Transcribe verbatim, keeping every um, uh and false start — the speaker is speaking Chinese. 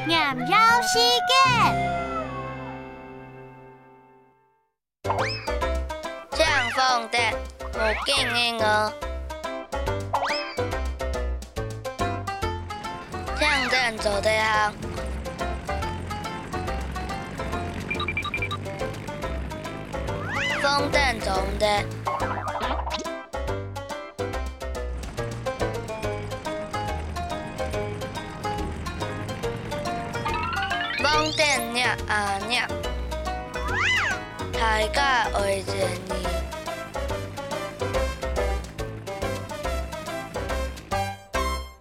念绕时间。 唱凤蝶，无见的鹅。唱阵做地行。风筝做唔得。风筝鸟啊鸟，大家会一年。